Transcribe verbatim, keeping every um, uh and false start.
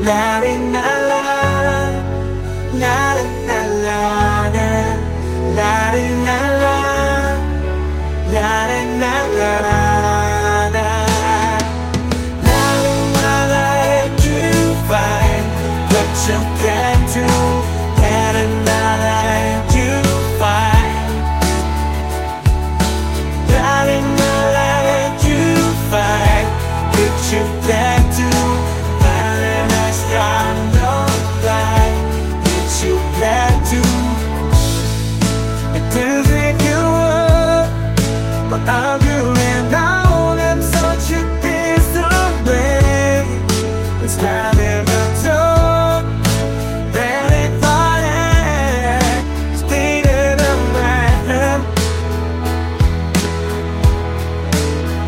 La di la la, la la la la, la di la la, la di la la la. Now I like to find what you can do, and I like to find. Darling, I like to find what you can do, and I stand on by what you can do. It feels like you were, but I'm doing now, and such a piece of me. It's not